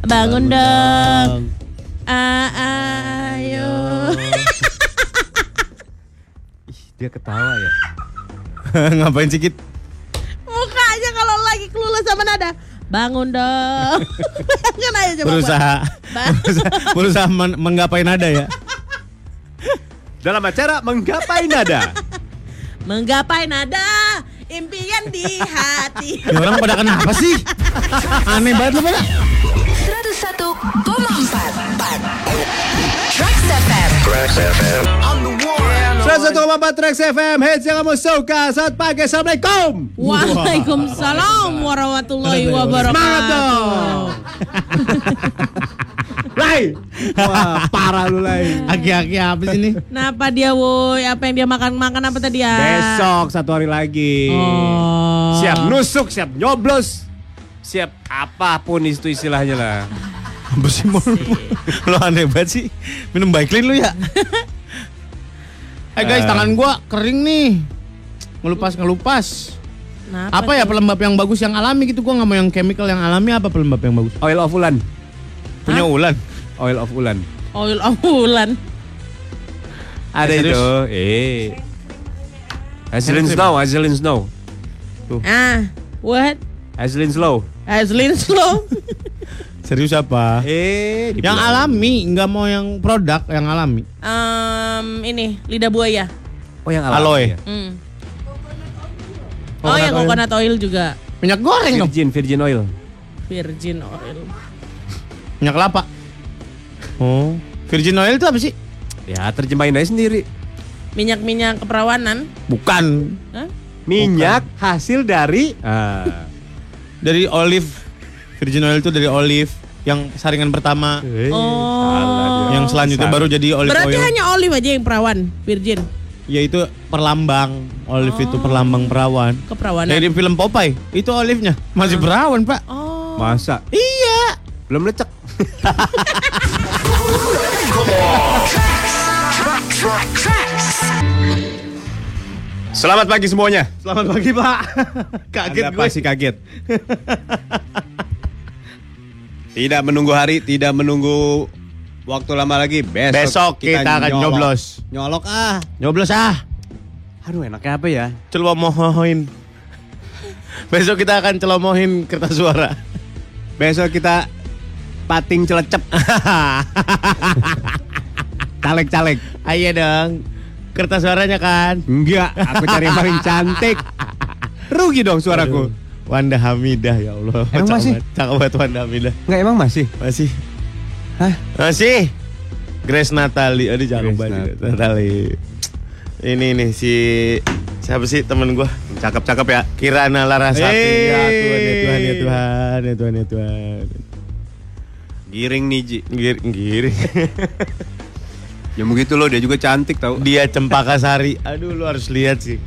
Bangun dong. Ayo. Dia ketawa ya. Ngapain sih, Kit? Mukanya kalau lagi kelulus sama nada. Bangun dong. Kan aja coba. Berusaha menggapai nada ya. Dalam acara Menggapai Nada. Menggapai nada, impian di hati. Ya orang pada kenapa sih? Aneh banget lu pada. 101,4 Trax FM. 101,4 Trax FM. Hits yang kamu suka. Selamat pagi. Assalamualaikum. Waalaikumsalam warahmatullahi wabarakatuh. Semangat dong. Lai. Wah, parah lu Lai. Aki-aki apa sih ini? Kenapa dia woi? Apa yang dia makan apa tadi ya? Besok 1 hari lagi. Oh. Siap nusuk, siap nyoblos. Siap apapun itu istilahnya lah. Apa sih lu aneh banget sih. Minum Baiklin lu ya. Guys, tangan gua kering nih. Ngelupas. Apa ya pelembab yang bagus yang alami gitu? Gua nggak mau yang chemical, yang alami. Apa pelembab yang bagus? Oil of Ulan. Punya Ulan. Oil of Ulan. Oil of Ulan. Ada itu. Hazelin Snow. Tuh. What? Hazelin Slow. Serius apa? Yang alami, nggak mau yang produk, yang alami. Ini lidah buaya. Oh yang alami. Aloe. Ya? Oh yang coconut oil juga. Minyak goreng dong. Virgin oil. Virgin oil. Minyak kelapa. Oh, virgin oil itu apa sih? Ya terjemahin aja sendiri. Minyak keperawanan. Bukan. Hah? Minyak hasil dari Dari olive. Virgin oil itu dari olive yang saringan pertama. Oh. Yang selanjutnya baru jadi olive Berarti oil. hanya olive aja yang perawan, virgin. Ya itu perlambang. Olive itu perlambang perawan. Keperawanan. Dari film Popeye, itu olive-nya masih perawan, Pak. Oh. Masa? Iya. Belum lecek. Selamat pagi semuanya. Selamat pagi, Pak. Kaget Anda gue. pasti kaget. Tidak menunggu hari, tidak menunggu waktu lama lagi. Besok kita akan nyoblos. Nyolok Nyoblos ah. Aduh enaknya apa ya? Celomohin. Besok kita akan celomohin kertas suara. Besok kita pating celecep. Caleg-caleg. Ayo dong. Kertas suaranya kan. Enggak, aku cari yang paling cantik. Rugi dong suaraku. Aduh, Wanda Hamidah ya Allah. Emang masih? Cakep banget Wanda Hamidah. Enggak emang masih? Masih. Hah? Masih. Grace Natali. Aduh cakep Grace banget Natali. Ini nih si siapa sih temen gua? Cakep-cakep ya. Kirana Larasati. Ya Tuhan, ya Tuhan, ya Tuhan. Tuhan, ya Tuhan, ya Tuhan. Giring nih Ji. Giring. Ya begitu loh, dia juga cantik tau. Dia Cempaka Sari. Aduh lu harus lihat sih.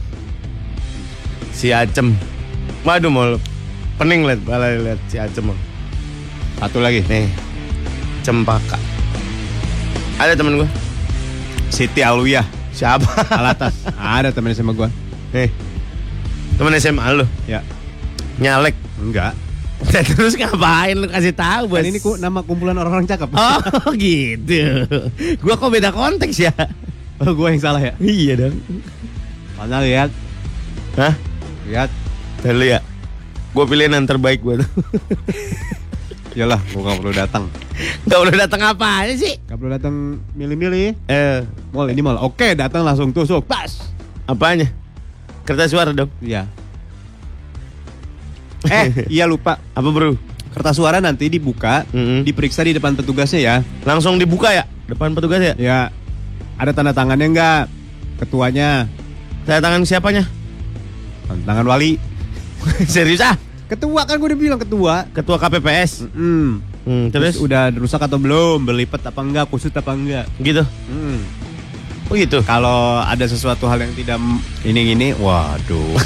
Si Acem. Waduh mau pening lihat si Acem. Satu lagi. Nih. Cempaka. Ada temen gua. Siti Alwiyah. Siapa? Alatas. Ada temen sama gua. Nih. Temen SMA lu. Ya. Nyalek. Enggak. Terus ngapain lu kasih tahu bos? Kan ini nama kumpulan orang-orang cakep. Oh gitu. Gua kok beda konteks ya? Oh, gua yang salah ya? Iya dong. Mana lihat? Hah? Lihat. Dulu ya. Gua pilihin yang terbaik gua tuh. Yalah, gua gak perlu datang. Gak perlu datang apa aja sih? Gak perlu datang milih-milih. Mall Ini mal. Oke, datang langsung tusuk. Pas. apanya? Kertas suara dong. Iya. Iya lupa. Apa bro? Kertas suara nanti dibuka, diperiksa di depan petugasnya ya. Langsung dibuka ya? Depan petugas ya? Ya. Ada tanda tangannya enggak? Ketuanya. Tanda tangan siapanya? Tanda tangan wali. Serius ah? Ketua kan gue udah bilang ketua. Ketua KPPS. Terus udah rusak atau belum? Berlipat apa enggak? Kusut apa enggak? gitu. Oh gitu. Kalau ada sesuatu hal yang tidak ini, waduh.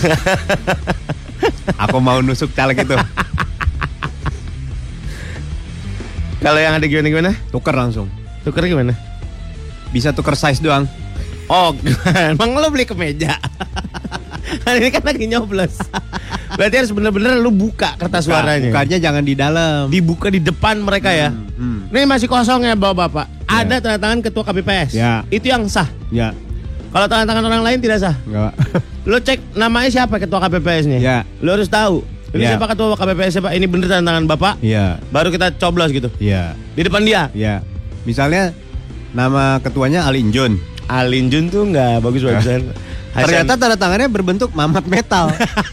Aku mau nusuk caleg itu. Kalau yang ada gimana? Tuker langsung. Tuker gimana? Bisa tuker size doang. Oh, emang lo beli kemeja? Ini kan lagi nyoblos. Berarti harus bener-bener lu buka kertas suaranya. Bukanya jangan di dalam. Dibuka di depan mereka ya. Nih masih kosong ya bapak-bapak. Ada tanda tangan ketua KPPS. Ya. Itu yang sah. Ya, Kalau tanda tangan orang lain tidak sah. enggak. Lu cek namanya siapa ketua KPPS-nya. Ya. Lu harus tahu. Ini Ya. siapa ketua KPPS siapa? Ini bener tanda tangan bapak. Iya, Baru kita coblos gitu. iya, Di depan dia. iya. Misalnya nama ketuanya Alin Jun. Alin Jun tuh nggak bagus-bagusan. Ternyata tanda tangannya berbentuk mamat metal.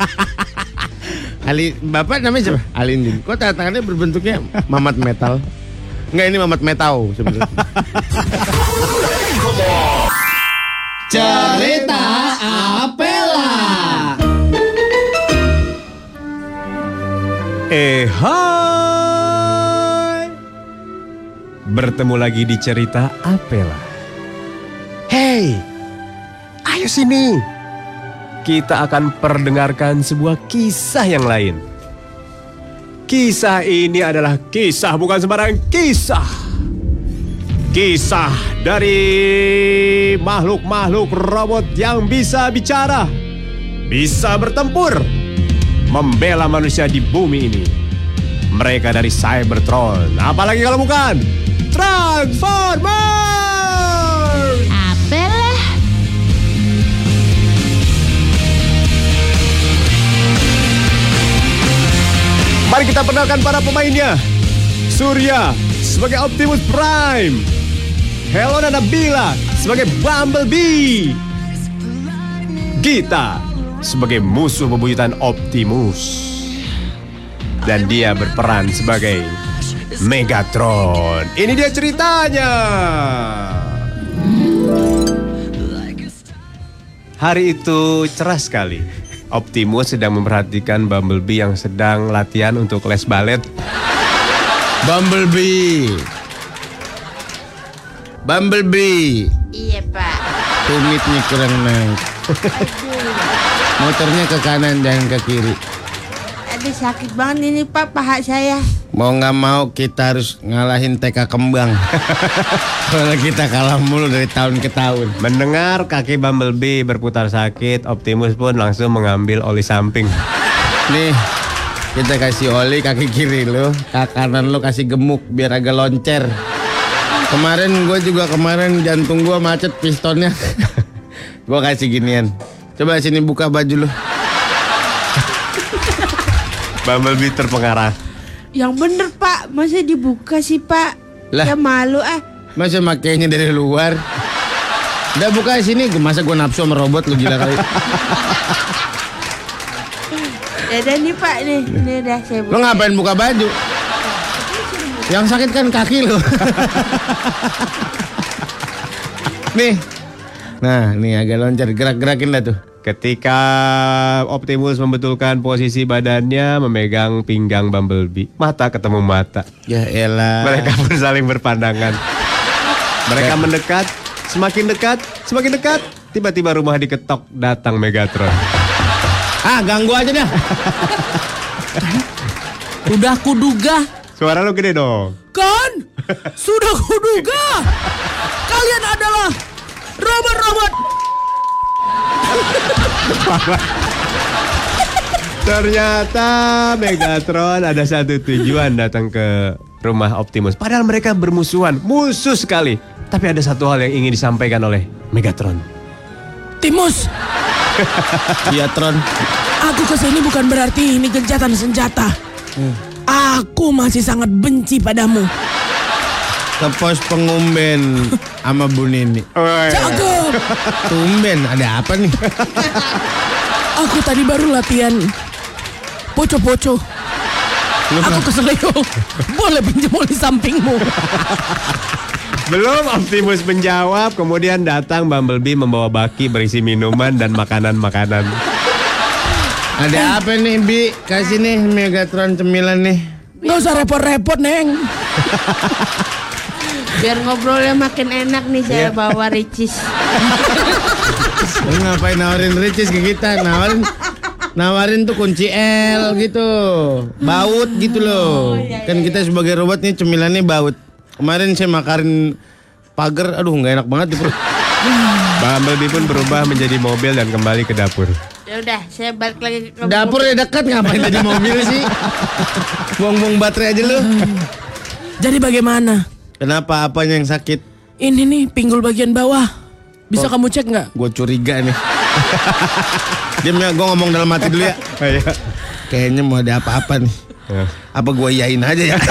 Bapak namanya siapa? Alin Jun. Kok tanda tangannya berbentuknya mamat metal? Enggak, ini mamat metau sebenarnya. Cerita Apela. Hai. Bertemu lagi di cerita Apela. Hey, ayo sini. Kita akan perdengarkan sebuah kisah yang lain. Kisah ini adalah kisah bukan sembarang kisah. Kisah dari makhluk-makhluk robot yang bisa bicara, bisa bertempur, membela manusia di bumi ini. Mereka dari Cybertron. Apalagi kalau bukan Transformers. Apalah. Mari kita perkenalkan para pemainnya. Surya sebagai Optimus Prime. Helena Nabila sebagai Bumblebee. Gita sebagai musuh bebuyutan Optimus. Dan dia berperan sebagai Megatron. Ini dia ceritanya. Hari itu cerah sekali. Optimus sedang memperhatikan Bumblebee yang sedang latihan untuk les balet. Bumblebee. Iya pak. Tumitnya kurang naik. Motornya ke kanan dan ke kiri. Aduh sakit banget ini pak paha saya. Mau nggak mau kita harus ngalahin TK Kembang. Kalau kita kalah mulu dari tahun ke tahun. Mendengar kaki Bumblebee berputar sakit, Optimus pun langsung mengambil oli samping. Nih, kita kasih oli kaki kiri lo, kaki kanan lo kasih gemuk biar agak loncer. Kemarin jantung gue macet pistonnya. Gue kasih ginian. Coba sini buka baju lo. Bumblebee terpengaruh. Yang bener pak, masa dibuka sih pak? Lah. Ya malu ah. Masa makainya dari luar? Udah buka sini, masa gue nafsu sama robot lu gila kali. Dadah nih pak nih, ini udah saya buka. Lo ngapain buka baju? Yang sakit kan kaki lo. Nih. Nah, nih agak loncat, gerak-gerakin dah tuh. Ketika Optimus membetulkan posisi badannya memegang pinggang Bumblebee, mata ketemu mata. Ya elah. Mereka pun saling berpandangan. Mereka mendekat, semakin dekat. Tiba-tiba rumah diketok, datang Megatron. Ah, ganggu aja dah. Udah kuduga. Suara lu gede dong. Kan? Sudah kuduga. Kalian adalah robot-robot. Ternyata Megatron ada satu tujuan datang ke rumah Optimus. Padahal mereka bermusuhan, musuh sekali. Tapi ada satu hal yang ingin disampaikan oleh Megatron. Timus, Iya Tron. aku kesini bukan berarti ini gencatan senjata. Aku masih sangat benci padamu. Ke pos pengumben sama Bu Nini. Cakep. Tumben, ada apa nih? Aku tadi baru latihan poco-poco. Aku keselio. Boleh pinjam oli sampingmu. Belum Optimus menjawab, kemudian datang Bumblebee membawa baki berisi minuman dan makanan-makanan. Ada apa nih Bi? Kasih nih Megatron cemilan nih. Nggak usah repot-repot Neng. Biar ngobrolnya makin enak nih saya bawa Ricis. Lu ngapain nawarin Ricis ke kita? Nawarin tuh kunci L gitu. Baut gitu loh. Kan kita sebagai robot nih cemilannya baut. Kemarin saya makarin pagar, aduh nggak enak banget di perut. Bumblebee pun berubah menjadi mobil dan kembali ke dapur. Ya udah, saya balik lagi ke Dapur udah dekat, ngapain tadi mobil sih? Buang-buang baterai aja lu. Jadi bagaimana? Kenapa? Apanya yang sakit? Ini nih pinggul bagian bawah. Bisa kamu cek nggak? Gue curiga nih. Diam ya, gue ngomong dalam hati dulu ya. Kayaknya mau ada apa-apa nih. Apa gue iyain aja ya?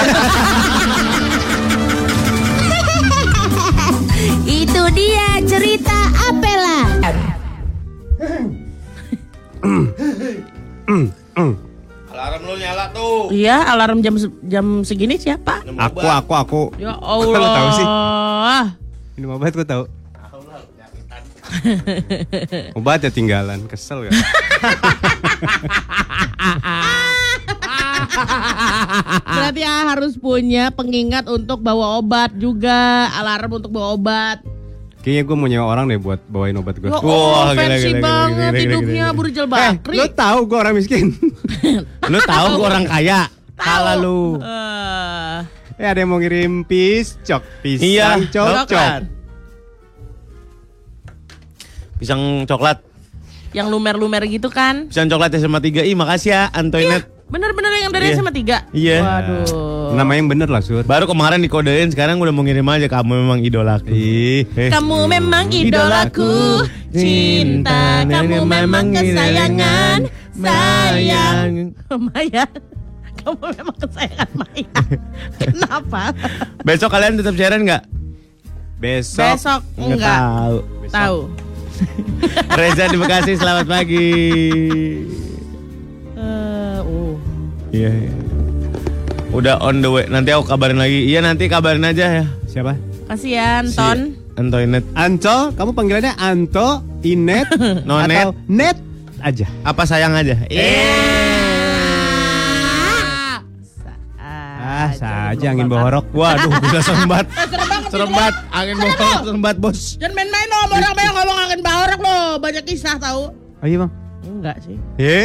Itu dia cerita Apela. Alarm lu nyala tuh. Iya, alarm jam segini siapa? Aku. Ya Allah. Lo tahu sih? Minum obat gue tahu. Obat ya tinggalan, kesel gak? Berarti harus punya pengingat untuk bawa obat juga, alarm untuk bawa obat. Kayaknya gue mau nyewa orang deh buat bawain obat gue. Wah, fancy banget hidupnya Burjal Bakri. Lo tahu gue orang miskin. Lu tahu gue orang kaya. Kalah lu. Ada yang mau ngirim pisang Iya, cocok. Pisang coklat. Yang lumer-lumer gitu kan? Pisang coklat SMA 3. Ih, makasih ya Antoinette. Bener-bener yang dari Iya. SMA 3? Iya. Waduh. Nama yang bener lah, Sur. Baru kemarin dikodein, sekarang udah mau ngirim aja. Kamu memang idolaku. Kamu memang idolaku, cinta kamu memang kesayangan, sayang Maya. Kamu memang kesayangan Maya. Kenapa? Besok kalian tetap siaran nggak? Besok Nggak enggak. tahu. Tahu. Reza di Bekasi, selamat pagi. Iya. Udah on the way. Nanti aku kabarin lagi. Iya, nanti kabarin aja ya. Siapa? Kasihan Ton. Antoinette. Anto, kamu panggilannya Anto, Inet, Nonet. atau Net aja. Apa sayang aja? Saja angin bohorok. Waduh, bisa sembat. Sembat, angin bohorok, sembat bos. Jangan main-main lo, orang banyak ngomong angin bahorok lo, banyak kisah tahu. Oh iya bang. Enggak sih.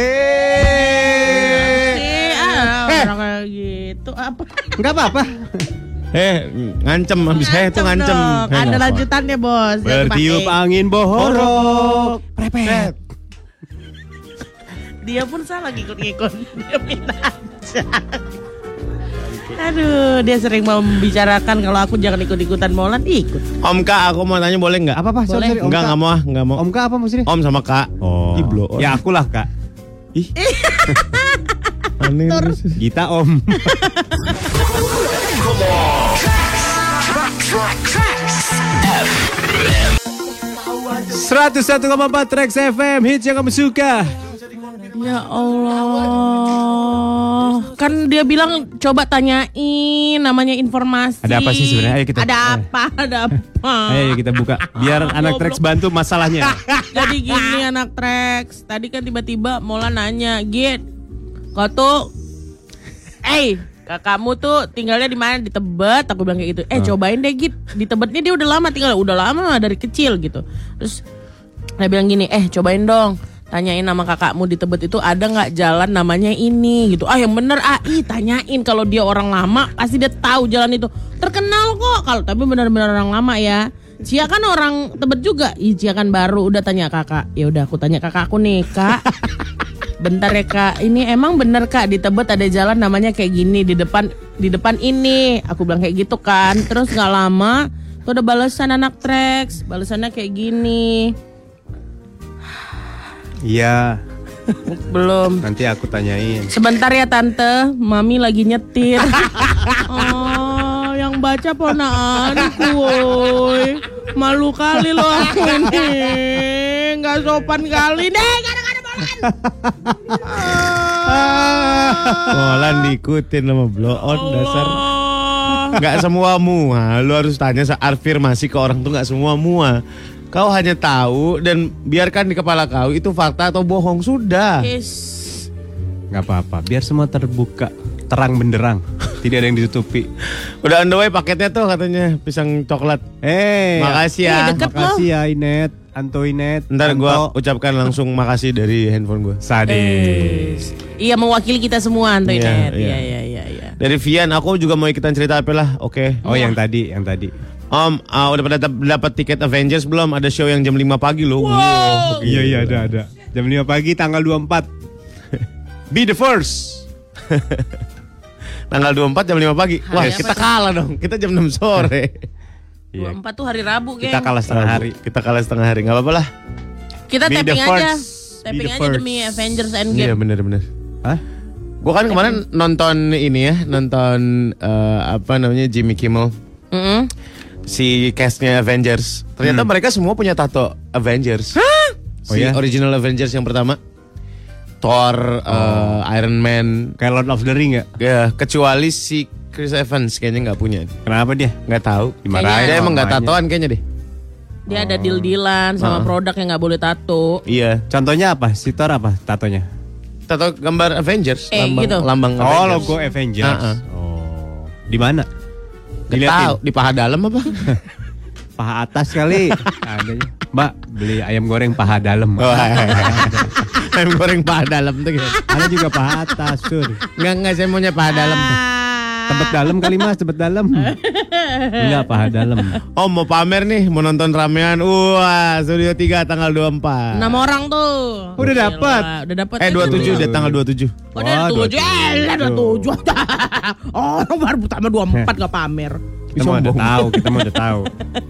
Orang kayak gitu apa? Enggak apa-apa. Ngancem habis itu ngancem. dong. Ada lanjutannya bos. Jangan Bertiup pakai. angin bohorok. Prepet. Dia pun salah ngikut-ngikut. Dia minta aja. Aduh, dia sering mau membicarakan kalau aku jangan ikut-ikutan Molan, ikut. Om Kak, aku mau tanya boleh nggak? Apa? Boleh. Sorry, Om Enggak, Kak. nggak mau ah, nggak mau. Om Kak apa maksudnya? Om sama Kak. Oh. Ih, blow on. Ya akulah Kak. Ih. Aneh terus. Gita Om. Seratus 101,4 Trax FM, hits yang kamu suka. Ya Allah. Kan dia bilang coba tanyain namanya informasi. Ada apa sih sebenarnya? Ayo kita. Ada apa? Ayo kita buka. Biar anak Trax bantu masalahnya. Jadi gini anak Trax. Tadi kan tiba-tiba Mola nanya, "Git, kau tuh kakakmu tuh tinggalnya di mana? Di Tebet." Aku bilang kayak gitu. Cobain deh Git. Di Tebetnya dia udah lama tinggal, udah lama dari kecil gitu. Terus dia bilang gini, cobain dong. Tanyain nama kakakmu di Tebet itu ada nggak jalan namanya ini gitu. Yang bener tanyain, kalau dia orang lama pasti dia tahu jalan itu. Terkenal kok kalau tapi benar-benar orang lama ya. Cia kan orang Tebet juga. Cia kan baru, udah tanya kakak. Ya udah aku tanya kakakku nih, Kak. Bentar ya Kak, ini emang bener Kak di Tebet ada jalan namanya kayak gini di depan ini. Aku bilang kayak gitu kan. Terus nggak lama tuh ada balasan anak Trax. Balasannya kayak gini. Iya, Belum. nanti aku tanyain. Sebentar ya Tante, Mami lagi nyetir. Oh, yang baca ponaanku woy. Malu kali loh aku ini. Gak sopan kali deh, kadang-kadang Molan diikutin sama blow on dasar. Nggak semua mua. Lu harus tanya afirmasi ke orang tuh nggak semua mua. Kau hanya tahu dan biarkan di kepala kau itu fakta atau bohong, sudah. Gak apa-apa, biar semua terbuka, terang benderang, tidak ada yang ditutupi. Udah on the way paketnya tuh katanya pisang coklat. Makasih ya. deket Makasih ya Inet, Anto Inet. Ntar gue Anto. ucapkan langsung makasih dari handphone gue. Sadis. Iya mewakili kita semua Antoinette. Iya. Iya. Dari Vian, aku juga mau ikutan cerita apa lah. Oke. Oh yang tadi. Om, udah pada dapat tiket Avengers belum? Ada show yang jam 5 pagi loh. Iya ada. Jam 5 pagi tanggal 24. Be the first. Tanggal 24 jam 5 pagi. Wah, Hari kita apa tuh? kalah dong. Kita jam 6 sore. 24 tuh hari Rabu, geng. Kita kalah setengah hari. Kita kalah setengah hari. Gak apa-apa lah. Kita Be the tapping aja. first. Be Tapping the aja first. demi Avengers Iya Endgame. bener-bener. Hah? Gue kan kemarin nonton ini ya. Nonton apa namanya Jimmy Kimmel. Si castnya Avengers. Ternyata mereka semua punya tato Avengers. Oh Si ya? original Avengers yang pertama. Thor, Iron Man. Kayak Lord of the Ring gak? Ya, kecuali si Chris Evans kayaknya nggak punya. Kenapa dia? Nggak tahu. Dimarahin Dia sama emang nggak mamanya. tatoan kayaknya deh. Dia ada deal-dealan sama produk yang nggak boleh tato. Iya. Contohnya apa? Si Thor apa tatonya? Tato gambar Avengers. Lambang, gitu. lambang Oh, Avengers. logo Avengers. Oh. Di mana? Nggak tahu. Di paha dalam apa? Paha atas kali. Adanya. Mbak, beli ayam goreng paha dalam. Ayam goreng paha dalam tuh gitu. Ada juga paha atas, Sur. Enggak, saya maunya paha dalam. Tebet dalam kali Mas, tebet dalam. Enggak, paha dalam. Oh, mau pamer nih, mau nonton ramean. Wah, Studio 3 tanggal 24. 6 orang tuh. Udah dapat. Udah dapat. 27 deh, tanggal 27. Oh, udah 7. Lah 27. Oh, baru pertama 24 gak pamer. Kita mau udah tahu, kita mau udah tahu.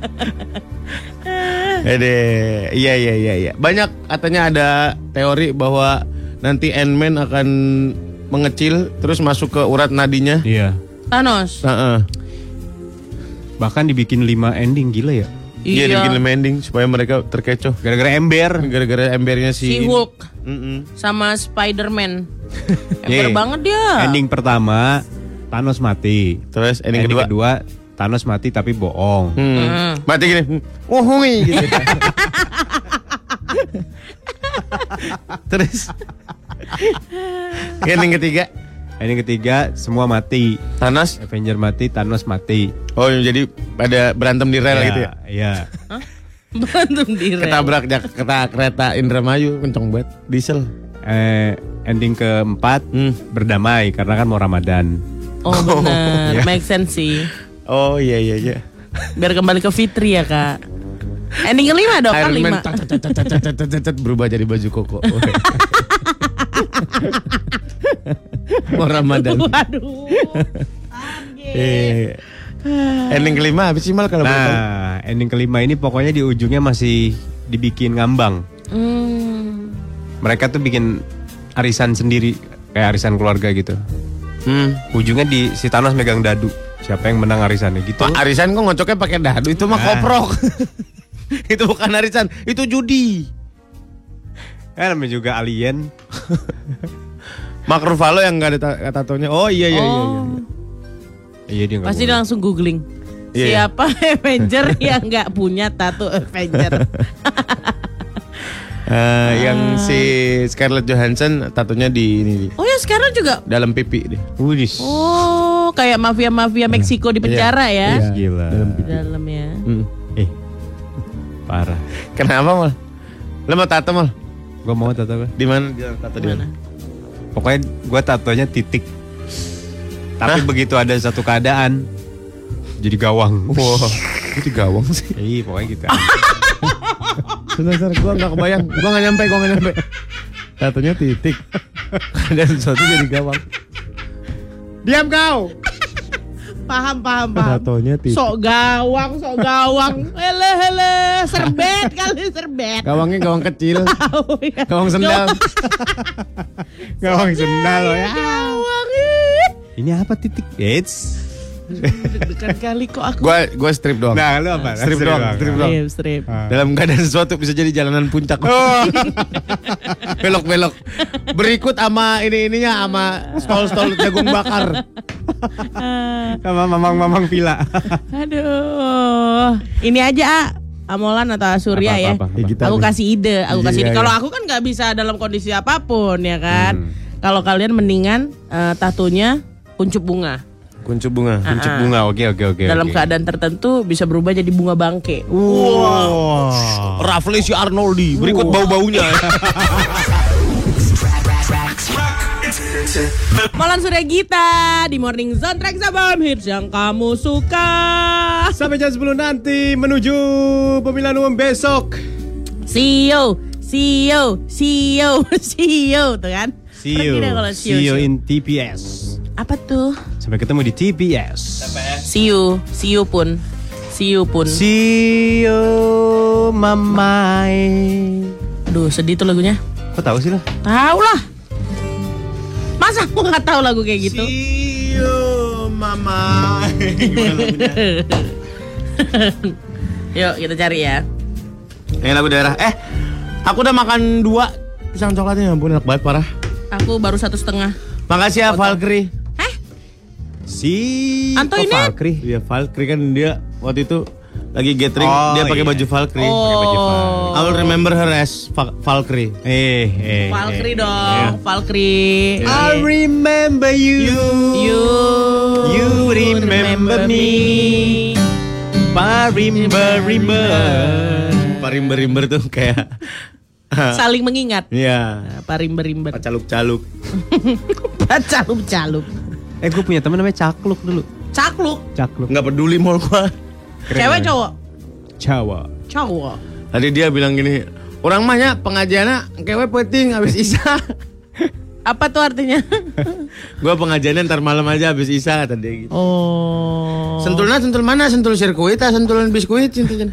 Iya. Banyak katanya ada teori bahwa nanti Ant-Man akan mengecil terus masuk ke urat nadinya. Iya. Thanos. Bahkan dibikin 5 ending, gila ya. Iya, dibikin ending supaya mereka terkecoh. Gara-gara ember. Gara-gara embernya Si Hulk sama Spider-Man. Ember Iya. banget dia. Ending pertama Thanos mati. Terus ending kedua Thanos mati tapi bohong. Mati gini. Oh, hui gitu. Terus ending ketiga Ending ketiga semua mati. Thanos. Avenger mati, Thanos mati. Oh, jadi pada berantem di rel gitu ya. Iya. Berantem di rel. Ketabrak kereta Indramayu kenceng banget. Diesel. Ending keempat berdamai karena kan mau Ramadan. Oh bener, make sense sih. Oh iya. Biar kembali ke Fitri ya kak. Ending kelima dong kan Iron Man 5. berubah jadi baju koko. Mau Ramadan. Waduh. Ending kelima apa sih Mal kalau boleh tahu? Nah, ending kelima ini pokoknya di ujungnya masih dibikin ngambang. Mereka tuh bikin arisan sendiri, kayak arisan keluarga gitu. Ujungnya si Thanos megang dadu. Siapa yang menang arisannya gitu. Wah, arisan kok ngocoknya pakai dadu itu mah koprok. Itu bukan arisan, itu judi. Ya namanya juga alien. Mark Ruffalo yang nggak ada tatonya. Oh iya. Iya dia nggak Pasti dia boleh. langsung googling. Iya. Siapa Avenger yang nggak punya tato Avenger? Yang si Scarlett Johansson tatonya di ini Oh ya sekarang juga. dalam pipi deh. Widis. Oh kayak mafia Meksiko di penjara ya. Iya. Gila. Di dalam ya. Parah. Kenapa Mal? Lo mau tato Mal? Gue mau tato gue. Di mana dia tato di mana? Pokoknya gue tatonya titik. Tapi begitu ada satu keadaan jadi gawang. Wow, itu gawang sih. Iya pokoknya gitu. Sebentar, gue nggak kebayang. Gue nggak nyampe. Tatonya titik. Ada sesuatu jadi gawang. Diam kau. Paham. Tatonya titik. Sok gawang. Hele, serbet kali serbet. Gawangnya gawang kecil. Oh, iya. Gawang sendal. Gawang sendal loh ya. Gawang. Ini apa titik? Eits. Deg-degan kali kok aku. Gue strip doang. Nah lu apa? Strip doang. Strip. Dalam keadaan sesuatu bisa jadi jalanan puncak. Belok-belok. Berikut sama ininya sama stol jagung bakar. Sama mamang villa. Aduh. Ini aja Amolan atau Surya ya. Apa? Aku kasih ide. Iya. Kalau aku kan nggak bisa dalam kondisi apapun ya kan. Kalau kalian mendingan tatonya kuncup bunga. Kuncup bunga. Kuncup bunga. Oke. Dalam keadaan tertentu bisa berubah jadi bunga bangke. Wow. Rafli si Arnoldi. Berikut bau-baunya. Molan Surya Gita di Morning Zone Track Sabam Hits yang kamu suka. Sampai jam 10 nanti menuju pemilihan umum besok. See you See you tuh kan. See you. Pergi deh kalau See you in TPS. Apa tuh? Sampai ketemu di TPS. See you pun. See you, mamai. Aduh, sedih tuh lagunya. Kok tahu sih lo? Tahu lah. Masa aku nggak tahu lagu kayak gitu? See you, mama. Gimana lagunya? Yuk kita cari ya. Ini lagu daerah. Aku udah makan 2 pisang coklatnya, ampun enak banget parah. Aku baru 1,5. Makasih ya Valkyrie. Anto ini? Valkyrie. Iya Valkyrie kan dia waktu itu lagi gathering, dia pakai baju Valkyrie. Pakai baju Oh. I will remember her as Valkyrie. Valkyrie dong, Valkyrie. I remember you. You remember me. Parimber tuh kayak Saling mengingat. iya, Parimber. caluk-caluk. Calup. Gue punya teman namanya Cakluk dulu. Cakluk. Nggak peduli mall gua. Cewek cowok? Cowok. Tadi dia bilang gini, orang mahnya pengajiannya kewe penting habis isya. Apa tuh artinya? Gua pengajiannya ntar malam aja habis isya kata dia gitu. Oh. Sentul mana? Sentul sirkuit, sentulan biskuit, sentul.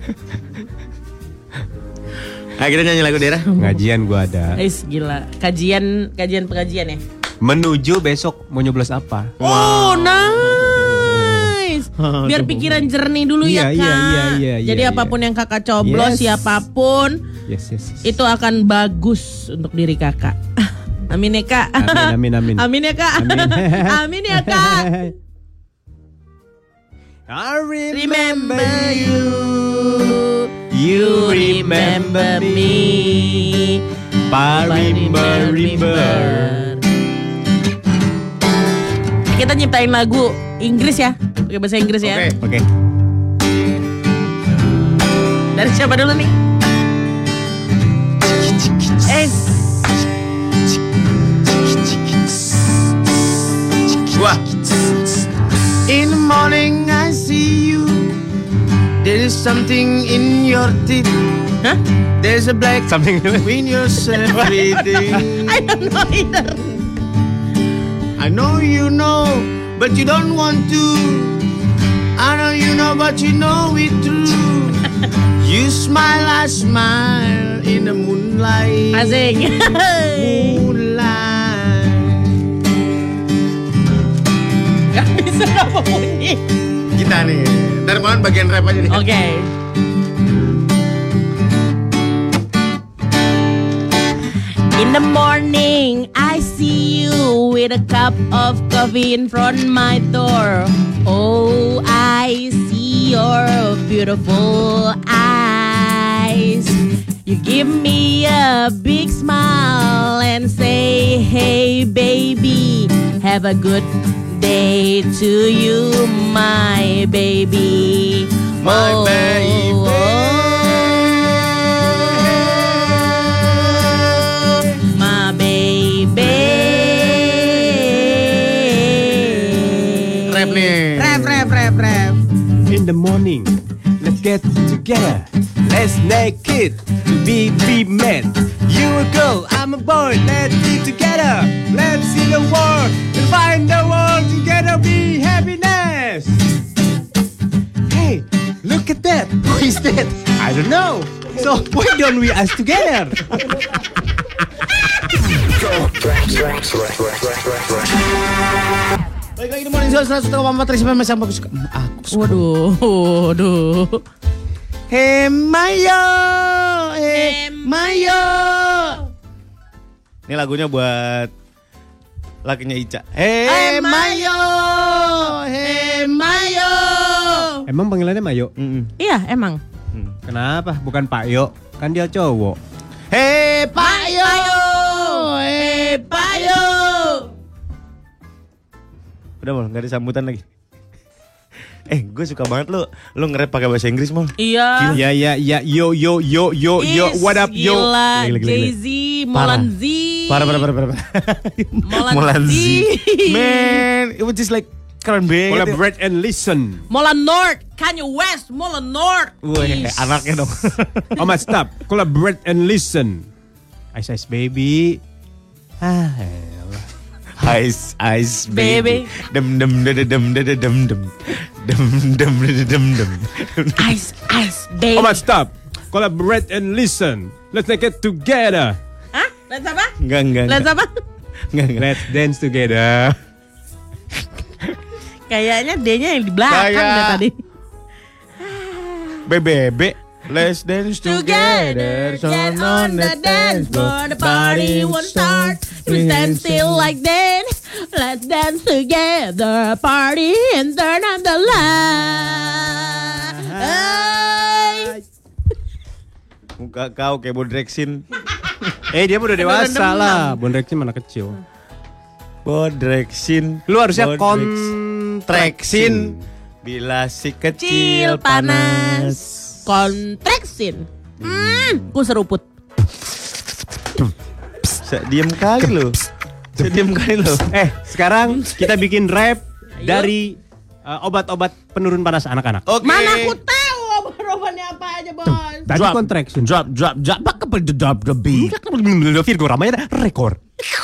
Ayo kita nyanyi lagu daerah. Ngajian gue ada. Gila. Kajian pengajian ya? Menuju besok mau nyoblos apa? Oh, nice. Biar pikiran jernih dulu ya, Iya, Kak. iya. Jadi apapun yang Kakak coblos, Yes. siapapun, Yes. itu akan bagus untuk diri Kakak. Amin ya, Kak. Amin. Amin ya, Kak. Amin ya, Kak. I Remember you. You remember me. Parimber. Kita nyiptain lagu Inggris ya, pakai bahasa Inggris ya. Oke. Dari siapa dulu nih? Gua. In the morning I see you. There is something in your teeth. Hah? There's a black Something in your everything. I don't know either. I know you know, but you don't want to. I know you know, but you know it true. You smile, I smile in the moonlight. Asik. Moonlight. Gak bisa apa bunyi. Kita nih, ntar mohon bagian rap aja nih. Oke. In the morning, I see you with a cup of coffee in front my door. Oh, I see your beautiful eyes. You give me a big smile and say, hey baby, have a good day to you, my baby. My baby. My baby. Rap nih. Rap. In the morning, let's get together. Let's naked, be mad. You a girl, I'm a boy. Let's be together. Let's see the world and find the world together. Be happiness. Hey, look at that. Who is that? I don't know. So why don't we us together? Baik lagi di Morning Show 101,4 Risma Mas Aku suka. Waduh. Hey Mayo. Ini lagunya buat lakinya Ica. Hey Mayo. Emang panggilannya Mayo? Iya, emang. Kenapa? Bukan Pak Yo. Kan dia cowok. Hey Payo. Udah mal, nggak ada sambutan lagi. Gue suka banget lo nge-rap pakai bahasa Inggris mal. Iya. Ya. Yo. What up yo? Gila, Gila. Jay-Z, Molan Z. Parah. Molan Z. Man, it was just like keren banget. Collaborate and listen. Molan North, Kanye West, Molan North. Wih, Ish. anaknya dong. Stop. Collaborate and listen. Ice Ice Baby. Elah. Ice Ice Baby. Dem dem dem dem dem dem dem dem dem dem dem. Ice, ice, baby. Oh, but stop. Collaborate and listen. Let's make it together. Hah? Let's apa? Enggak. Let's apa? Enggak. Let's dance together. Kayaknya D-nya yang di belakang Kayak- deh tadi. BBB. Let's dance together. Get on the dance floor, the party won't start. We stand still like that. Let's dance together, party and turn on the light. Muka kau kayak Bodrexin. Dia udah dewasa lah. Bondrexin mana kecil. Bodrexin. Lu harusnya kontraksin. Bila si kecil panas. Kontraksin. Ku seruput. Diam kali lo. Diam kali lo. Sekarang kita bikin rap dari obat-obat penurun panas anak-anak. Oke. Mana aku tahu obat-obatnya apa aja, Bos. Tadi contraction. Drop. Pakai drop the beat. Virgo ramanya rekor.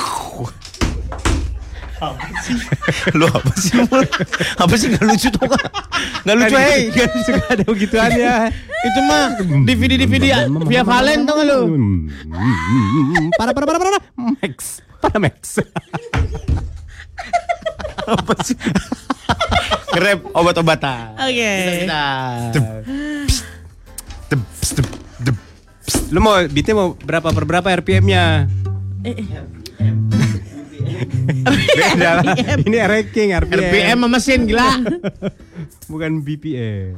Lo apa sih? Apa sih nggak lucu tuh? Nggak lucu, hei. Kan suka ada begituannya. Itu mah DVD via Valen tau nggak lo? Para Max. Apa sih? Rap obat-obatan. Oke. Lu mau beatnya mau berapa per berapa RPM-nya? Beda lah. Ini ranking RPM sama mesin gila. bukan BPM.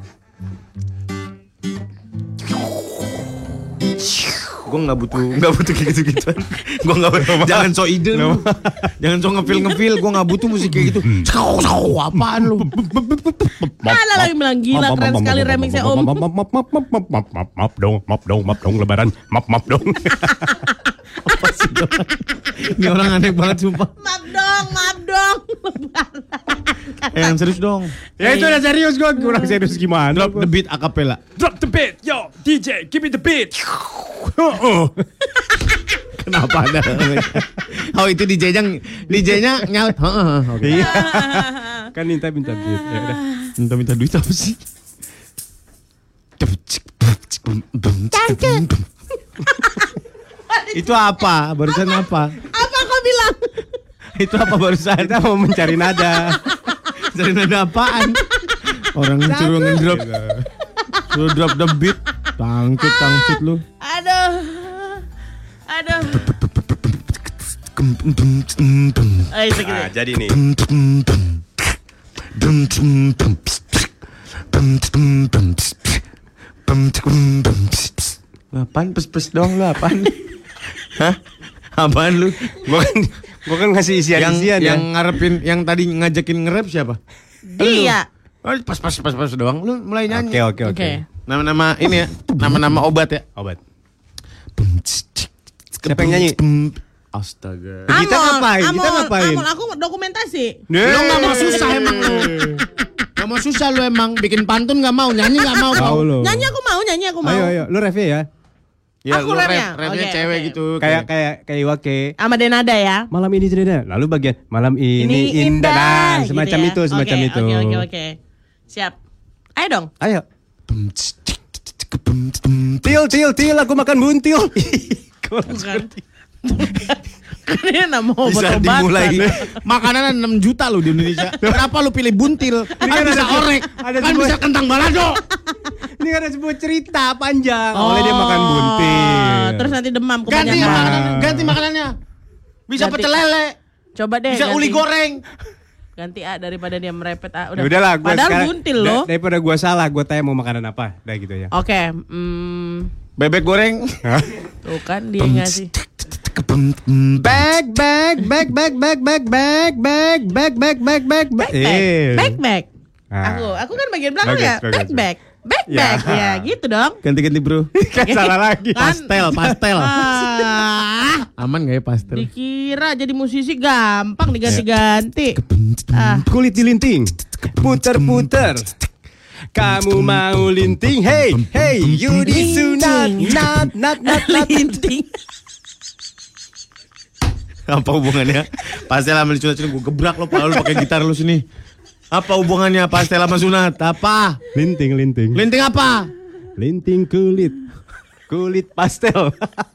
Gue nggak butuh kayak gitu-gituan. Gue nggak jangan so ide lu. Jangan so ngefeel. Gue nggak butuh musik kayak gitu. Apaan lu? Ada lagi bilang gila keren sekali remixnya Om. Map dong lebaran. Map dong. Apa sih? Ini orang aneh banget sumpah. Maaf dong. Yang serius dong. Ya itu udah serius, gue kurang serius gimana? Drop the beat acapella. Drop the beat, yo DJ, give me the beat. Kenapa ada? Oh itu DJ-nya nyal. Oke. Iya. Kan minta beat. Ya udah. Minta duit apa sih? Itu apa? Barusan apa? Apa kau bilang? Itu apa barusan? Kita mau mencari nada. Cari nada apaan? Orang suruh ngedrop. Suruh drop the beat. Tangcut lu. Aduh. Segitu. Jadi nih. Apaan pes-pes doang lu apaan? Hah? Apaan lu? Gua kan ngasih isian Yang ngarepin, yang tadi ngajakin nge-rap siapa? Dia. Oh, pas doang. Lu mulai nyanyi. Oke. Nama-nama ini ya. Nama-nama obat ya. Obat. Siapa yang nyanyi? Astaga. Kita ngapain? Amol, aku dokumentasi. Lu gak mau susah emang lu. Gak mau susah lu emang. Bikin pantun gak mau. Nyanyi gak mau. Tahu lo. Nyanyi aku mau. Ayo, lu ref ya. Ya Aku lu rapnya? rapnya Oke, cewek oke. gitu. Kayak Iwake. Sama Denada ya. Malam ini cerita. Lalu bagian malam ini indah. Nah, semacam gitu ya. semacam itu. Oke. Siap. Ayo dong. Ayo. Til, aku makan buntil. Bukan. Ini nama Bisa obat-obatan. dimulai. Makanan 6 juta lu di Indonesia. Kenapa lu pilih buntil? Kan bisa orek. Kan bisa kentang balado. Ini ada sebuah cerita panjang. Oleh dia makan buntil. Terus nanti demam Ganti kebanyakan. ganti makanannya. Bisa Ganti. pecel lele. Coba deh. Bisa uli goreng. Ganti daripada dia merepet Ya udahlah, gua Padahal sekarang buntil loh. daripada gua salah, gua tanya mau makanan apa. Udah gitu ya. Oke. Bebek goreng. Tuh kan dia ngasih. Back. Back. Ah. Aku kan bagian belakang ya. Bagus. Back. Ya. Ya gitu dong. Ganti-ganti bro. Kan salah lagi. Kan? Pastel. Aman gak ya pastel? Dikira jadi musisi gampang diganti-ganti. Kulit dilinting, puter-puter. Kamu mau linting? Hey, you disunat, not. Linting. Apa hubungannya? Pastel sama disunat sini gue gebrak lo, pala lu pakai gitar lu sini. Apa hubungannya pastel sama sunat? Apa? Linting. Linting apa? Linting kulit. Kulit pastel.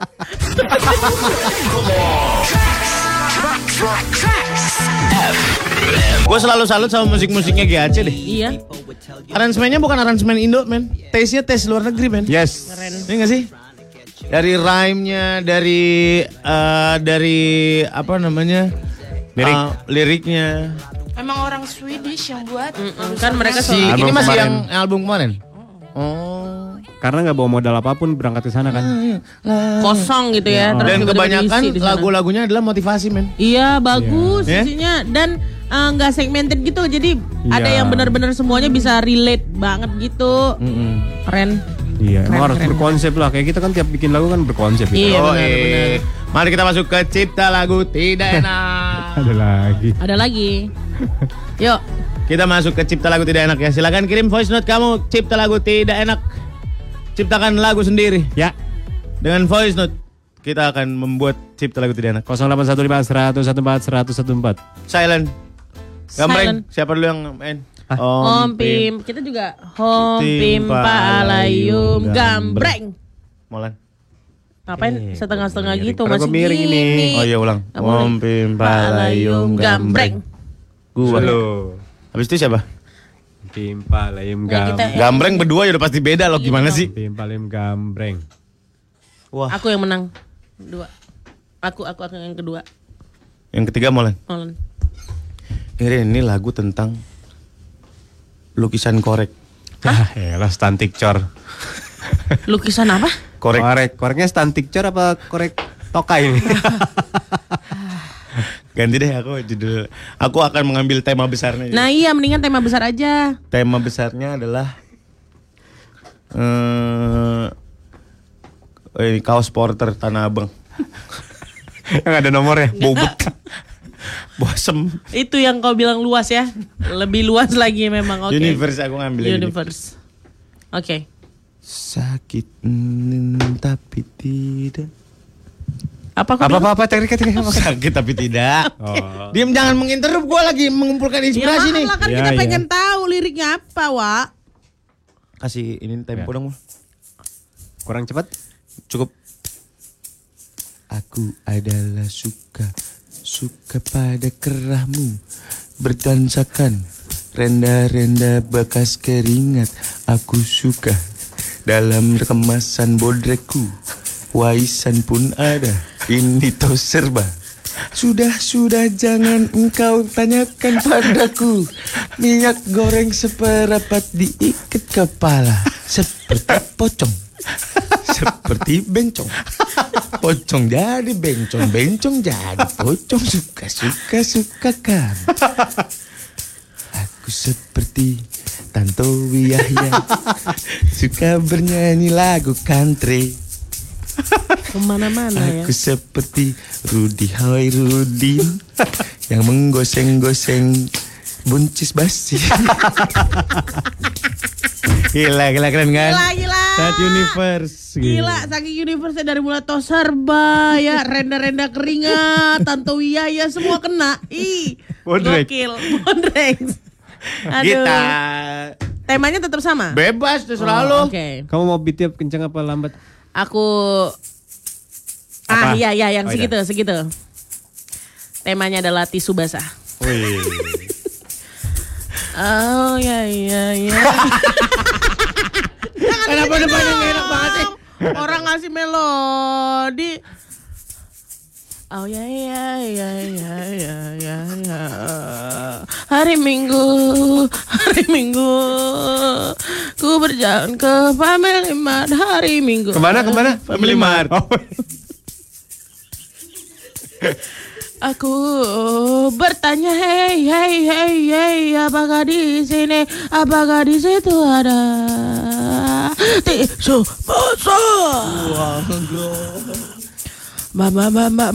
Gue selalu salut sama musik-musiknya GAC deh. Iya. Aransemennya bukan aransemen Indo, men. Taste-nya taste luar negeri, men. Yes. Iya gak sih? Dari rhyme-nya, dari apa namanya? Liriknya. Emang orang Swedish yang buat. Kan mereka Ini Album masih kemarin. yang album kemarin. Oh. Karena nggak bawa modal apapun berangkat ke sana kan. kosong gitu ya. Terus Dan tiba-tiba kebanyakan diisi di sana. lagu-lagunya adalah motivasi, men. Iya bagus Iya. isinya dan nggak segmented gitu jadi ada Iya. yang benar-benar semuanya bisa relate banget gitu. Keren. Iya, emang harus Keren. berkonsep lah. Kayak kita kan tiap bikin lagu kan berkonsep gitu. Iya Oh, benar-benar. Mari kita masuk ke cipta lagu tidak enak. Ada lagi. Ada lagi. Yuk. Kita masuk ke cipta lagu tidak enak ya. Silakan kirim voice note kamu cipta lagu tidak enak. Ciptakan lagu sendiri. Ya. Dengan voice note kita akan membuat cipta lagu tidak enak. 0815 114 114. Silent. Gambreng. Silent. Siapa dulu yang main? Om Pim. Kita juga Om Pim Palayum Gambreng. Molan. Ngapain setengah-setengah miring. gitu Karena masih gua miring gini. ini. Oh iya ulang. Nggak boleh. Om Pim Palayum Gambreng. Gua. Halo. Habis itu siapa? Pimpa layum Ya, kita- Gambreng berdua ya udah pasti beda loh. Gimana sih? Pimpa layum gambreng. Wah. Aku yang menang. Dua. Aku yang kedua. Yang ketiga Molan. Nolan. Ini lagu tentang lukisan korek. Elah stunting cor. Lukisan apa? Korek. Koreknya stunting cor apa korek tokai ini? Ganti deh aku judul. Aku akan mengambil tema besarnya. Nah iya mendingan tema besar aja. Tema besarnya adalah ini kaos porter Tanah Abang. Yang ada nomornya. Bobot. Bosem. Itu yang kau bilang luas ya. Lebih luas lagi memang. Oke. Universe aku ngambil ini. Universe. Oke. Sakit tapi tidak. Apa kau bilang? Apa teknik. Sakit tapi tidak. Oh. Diam jangan menginterrupt, gue lagi mengumpulkan Ya inspirasi nih. maaf lah kan Ya, kita ya. pengen tahu liriknya apa, Wak. Kasih ini tempo Ya. dong. Kurang cepat. Cukup. Aku adalah suka pada kerahmu, berdansakan renda-renda bekas keringat. Aku suka dalam kemasan bodrekku, waisan pun ada, ini toh serba. Sudah jangan engkau tanyakan padaku. Minyak goreng seperapat diikat kepala, seperti pocong, seperti bencong. Pocong jadi bencong, bencong jadi pocong. Suka kan. Aku seperti Tantowi Yahya, suka bernyanyi lagu country. Kemana-mana ya. Aku seperti Rudy Hoirudin yang menggoseng-goseng buncis basi. Gila keren kan? Gila. Saat universe. Gila, saking universe dari mulai toh serba ya, renda-renda keringat, Tantowi Yahya semua kena. Ih, Bodrek. gokil. Bodrek. Aduh. Kita Temanya tetap sama? bebas terserah Oh, lo. Oke. Kamu mau beatnya kencang apa lambat? Aku Apa? iya yang Oh, iya. segitu. Temanya adalah tisu basah. Wih. Oh ya. Kenapa depannya gak enak banget sih? Orang ngasih melodi. Oh ya. Hari Minggu, ku berjalan ke Family Mart hari Minggu. Kemana? Family Mart. Oh. Aku bertanya, hey, apakah di sini, apakah di situ ada tisu basah? Mama.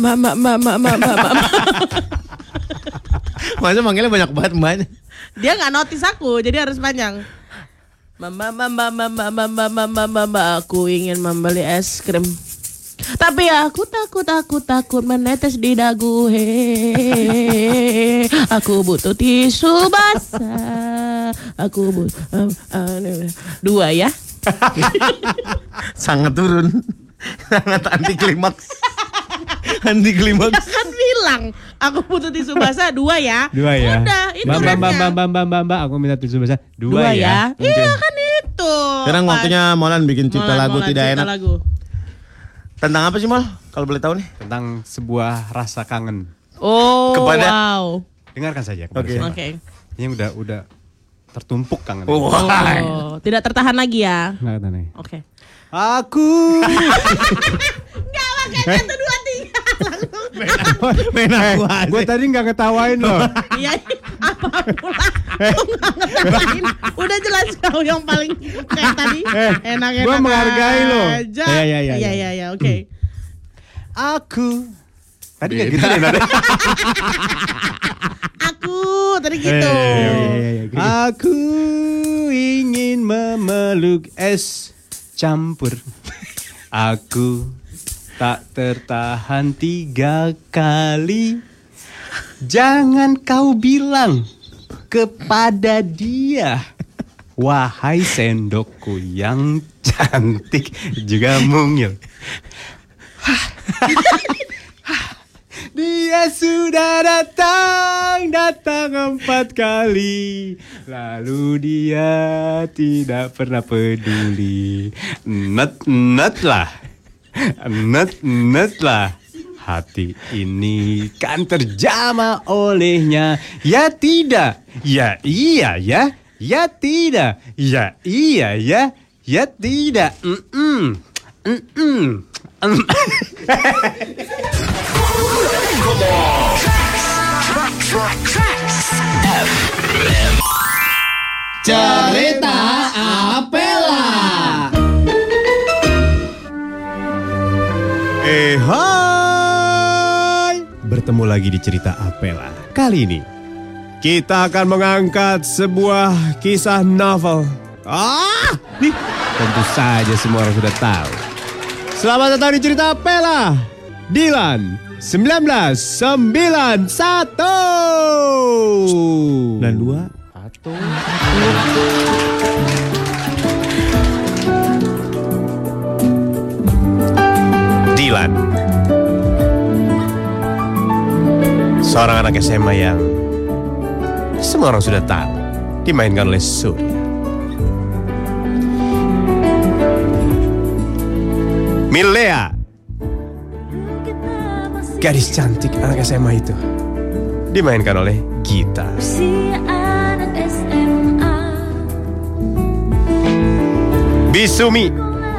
Masa manggilnya banyak banget mbaknya. Dia nggak notice aku, jadi harus panjang. Mama, aku ingin membeli es krim. Tapi aku takut menetes di dagu. He. Aku butuh tisu basah. Aku butuh 2 ya. Sangat turun. Sangat anti klimaks. Anti klimaks. Kan bilang aku butuh tisu basah 2 ya. 2 ya. Udah, itu Mbak, aku minta tisu basah 2 ya. Iya kan itu. Sekarang waktunya Molan bikin cipta lagu tidak enak. Lagu. Tentang apa sih Mol? Kalau boleh tahu nih. Tentang sebuah rasa kangen. Oh, Kepada- wow. Dengarkan saja kepada Oke. saya. Oke. Ini udah tertumpuk kangen. Oh, tidak tertahan lagi ya. Nggak kata nih. Oke. Aku. Enggak makanya 1 2 3 Main aku aja. Gue tadi nggak ngetawain loh. Iya, apa pula? Kau nggak ngetawain. Udah jelas kau yang paling kayak tadi. Enak-enak Gua menghargai lo. aja. Iya. Oke. Aku. Tadi nggak gitu deh nada. Aku tadi gitu. Aku ingin memeluk es campur. Aku tak tertahan 3 kali. Jangan kau bilang kepada dia, wahai sendokku yang cantik juga mungil. Dia sudah datang 4 kali. Lalu dia tidak pernah peduli. Net lah. Hati ini kan terjamah olehnya. Ya tidak. Ya iya ya. Ya tidak. Ya iya ya. Ya tidak. Cerita Apela. Hai, bertemu lagi di Cerita Apela. Kali ini kita akan mengangkat sebuah kisah novel. Nih, tentu saja semua orang sudah tahu. Selamat datang di Cerita Apela. Dilan 1991. 92. Dilan, seorang anak SMA yang semua orang sudah tahu, dimainkan oleh Surya. Milea, gadis cantik anak SMA itu, dimainkan oleh Gita. Bisumi,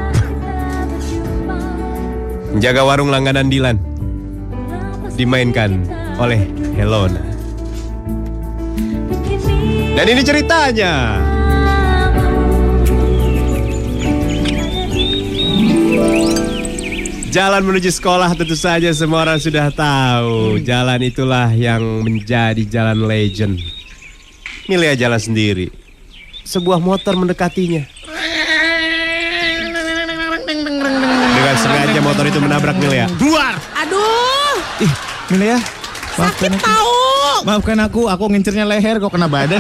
menjaga warung langganan Dilan, dimainkan oleh Helona. Dan ini ceritanya. Jalan menuju sekolah tentu saja semua orang sudah tahu. Jalan itulah yang menjadi jalan legend. Milea jalan sendiri. Sebuah motor mendekatinya. Dengan sengaja motor itu menabrak Milea. Buar! Aduh, Ih, Milea. sakit tahu. Maafkan aku ngincernya leher kok kena badan.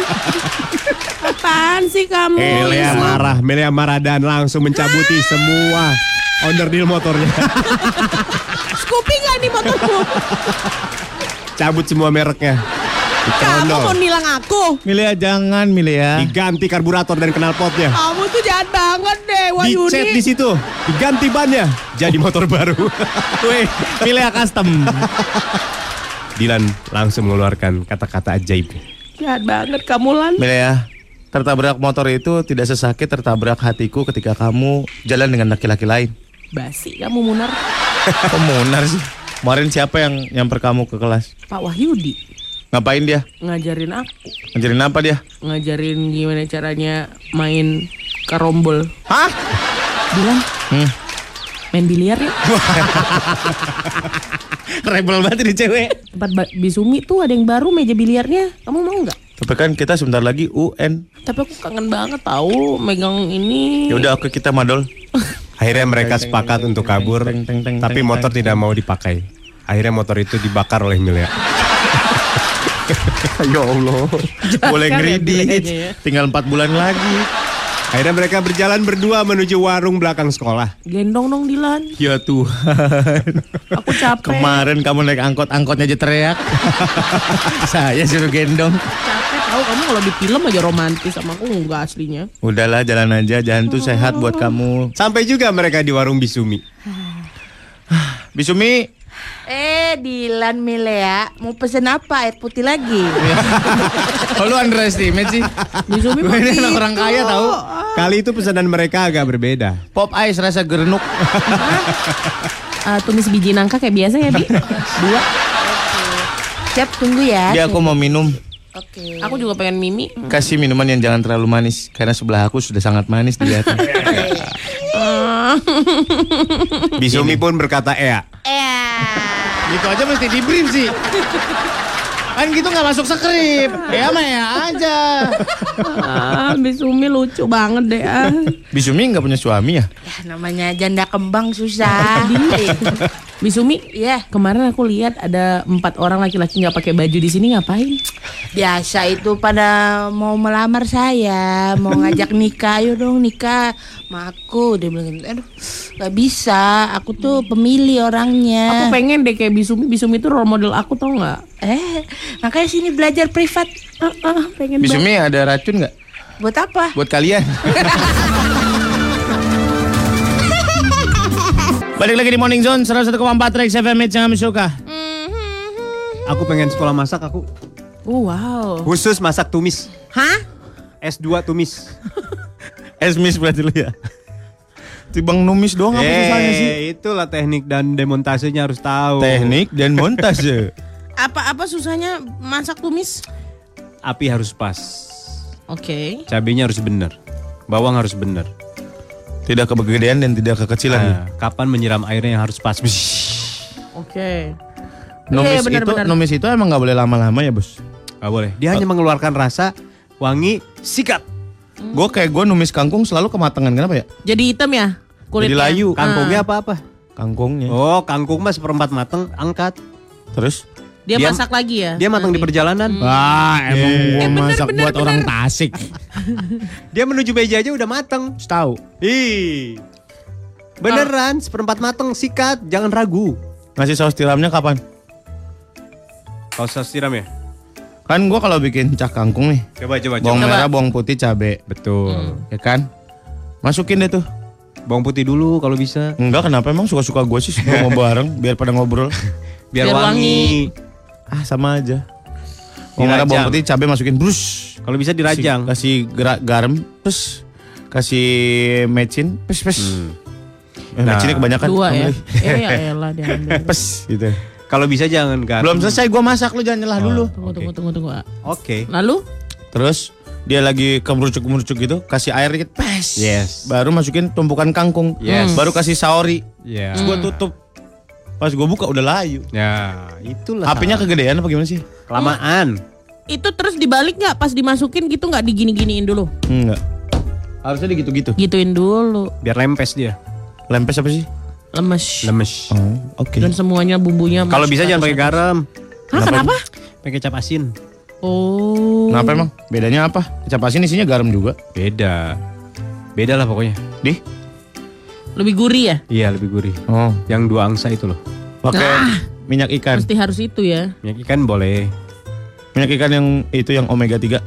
Apaan sih kamu? Milea marah dan langsung mencabuti semua onderdil motornya. Scoopy nggak di motorku? Cabut semua mereknya. Kamu mau nilang aku? Milea jangan Milea. Diganti karburator dan knalpotnya. Kamu tuh jahat banget deh, Wahyuni. Dicet di situ, diganti bannya, jadi motor baru. Weh, Milea custom. Dilan langsung mengeluarkan kata-kata ajaib. Jahat banget kamu, Lan. Milea, tertabrak motor itu tidak sesakit tertabrak hatiku ketika kamu jalan dengan laki-laki lain. Basi kamu, Munar. Kok Munar sih? Kemarin siapa yang nyamper kamu ke kelas? Pak Wahyudi Ngapain dia? ngajarin aku. Ngajarin apa dia? Ngajarin gimana caranya main karombol. Hah? Bilang, main biliar ya. Rebel banget ini cewek. Tempat Bisumi tuh ada yang baru meja biliarnya. Kamu mau nggak? Tapi kan kita sebentar lagi UN. Tapi aku kangen banget tahu megang ini. Ya udah oke kita madol. Akhirnya mereka sepakat untuk kabur, tapi motor tidak mau dipakai. Akhirnya motor itu dibakar oleh Milea. Ya Allah. Boleh ngeridit. ya. Tinggal 4 bulan lagi. Akhirnya mereka berjalan berdua menuju warung belakang sekolah. Gendong dong Dilan. Ya Tuhan. Aku capek. Kemarin kamu naik angkot-angkotnya aja teriak. Saya suruh gendong. Capek tahu kamu kalau di film aja romantis sama aku enggak aslinya. Udahlah jalan aja, jalan tuh sehat buat kamu. Sampai juga mereka di warung Bisumi. Bisumi. Dilan Milea, mau pesen apa? Air putih lagi? Oh lu underestimate sih. Bisumi Gue ini anak orang kaya tahu. Kali itu pesanan mereka agak berbeda. Pop ice rasa gerenuk. tumis biji nangka kayak biasa ya Bi. 2. Siap, tunggu ya. Dia aku mau minum. Oke. Aku juga pengen mimi. Kasih minuman yang jangan terlalu manis karena sebelah aku sudah sangat manis dilihatnya. Bisumi pun berkata Gitu aja mesti di brief sih. Kan gitu gak masuk skrip. Ya mah ya aja. Bisumi lucu banget deh. Bisumi gak punya suami ya? Ya, namanya janda kembang susah. Bisumi, Iya. kemarin aku lihat ada 4 orang laki-laki nggak pakai baju di sini ngapain? Biasa itu pada mau melamar saya, mau ngajak nikah, ayo dong nikah sama aku. Dia bilang, aduh gak bisa, aku tuh pemilih orangnya. Aku pengen deh kayak Bisumi. Bisumi itu role model aku tau nggak? Makanya sini belajar privat. Pengen banget. Bisumi ada racun gak? Buat apa? Buat kalian. Balik lagi di Morning Zone 101,4 Rex FM yang kami suka. Aku pengen sekolah masak aku. Wow. Khusus masak tumis. Hah? S2 tumis. Esmis berarti lu ya. Tibang numis doang apa susahnya sih? Itulah teknik dan demontasenya harus tahu. Teknik dan montase. Apa susahnya masak tumis? Api harus pas. Oke. Cabenya harus benar. Bawang harus benar. Tidak kegedean dan tidak kekecilan. Nah, kapan menyiram airnya yang harus pas. Oke. Numis Iya, benar-benar. numis itu emang gak boleh lama-lama ya bos? Gak boleh. Dia hanya mengeluarkan rasa wangi sikat. Gue numis kangkung selalu kematangan, kenapa ya? Jadi hitam ya kulitnya? Jadi layu. Kangkungnya apa-apa? Kangkungnya. Oh, kangkung mas seperempat mateng, angkat. Terus? Dia Dia- masak lagi ya? Dia matang di nanti? perjalanan. Wah emang gua bener, masak bener, buat bener. orang Tasik. Dia menuju meja aja udah mateng. Tahu? Ih. Beneran, seperempat mateng, sikat, jangan ragu. Ngasih saus tiramnya kapan? Kau saus tiram ya? Kan gua kalau bikin cak kangkung nih, Coba. bawang merah, bawang putih, cabe, Betul. ya kan? Masukin deh tuh. Bawang putih dulu kalau bisa. Enggak, kenapa emang suka-suka gue sih semua mau bareng biar pada ngobrol. Biar Biar wangi. Sama aja. Bawang merah, bawang putih, cabe masukin brus. Kalau bisa dirajang. Kasih garam, terus kasih mecin, pes. Nah, Mecinnya kebanyakan. 2 ya? Ambil. Ya elah dia ambil. Pes gitu. Kalau bisa jangan garam. Belum selesai gua masak, lu jangan nyelah dulu. Tunggu. Oke. Lalu? Terus dia lagi kemerucuk gitu, kasih air dikit, pes. Yes. Baru masukin tumpukan kangkung. Yes. Baru kasih saori. Ya. Terus gua tutup. Pas gua buka udah layu. Ya, itulah. Apinya kegedean apa gimana sih? kelamaan. Itu terus dibalik nggak pas dimasukin gitu nggak digini-giniin dulu? Enggak. Harusnya gitu-gitu. Gituin dulu. Biar lempes dia. Lempes apa sih? Lemes. Lemes. Oh, oke. Dan semuanya bumbunya. Kalau masuk bisa ke jangan atas. pakai garam. Hah, kenapa? Pakai kecap asin. Oh. Kenapa emang? Bedanya apa? Kecap asin isinya garam juga. Beda. Beda lah pokoknya. Di? Lebih gurih ya? Iya, lebih gurih. Oh. Yang 2 angsa itu loh. Pakai minyak ikan. Mesti harus itu ya. Minyak ikan boleh. Minyak ikan yang itu yang omega 3.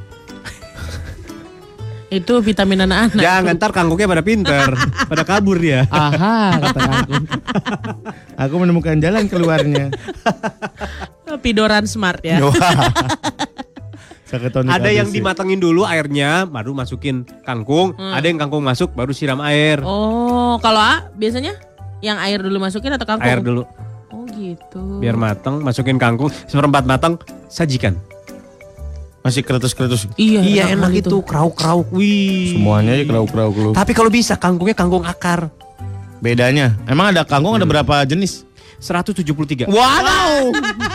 Itu vitamin anak-anak. Jangan, ntar kangkungnya pada pinter. Pada kabur dia. Aha, kata aku. Aku menemukan jalan keluarnya. Pidoran smart ya. Wah. Saketonik Ada habis yang sih. dimatengin dulu airnya, baru masukin kangkung. Ada yang kangkung masuk, baru siram air. Oh, kalau biasanya yang air dulu masukin atau kangkung? Air dulu. Oh gitu. Biar mateng, masukin kangkung. Seperempat mateng, sajikan. Masih keretus-keretus. Iya, enak itu. Krauk-krauk. Wih. Semuanya aja krauk-krauk lu. Tapi kalau bisa, kangkungnya kangkung akar. Bedanya, emang ada kangkung ada berapa jenis? 173. Wow.